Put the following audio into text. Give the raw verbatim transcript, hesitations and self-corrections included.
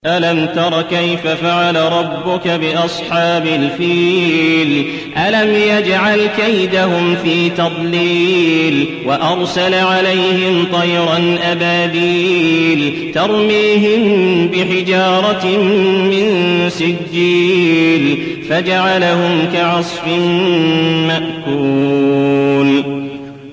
ألم تر كيف فعل ربك بأصحاب الفيل ألم يجعل كيدهم في تضليل وأرسل عليهم طيرا أبابيل ترميهم بحجارة من سجيل فجعلهم كعصف مأكول.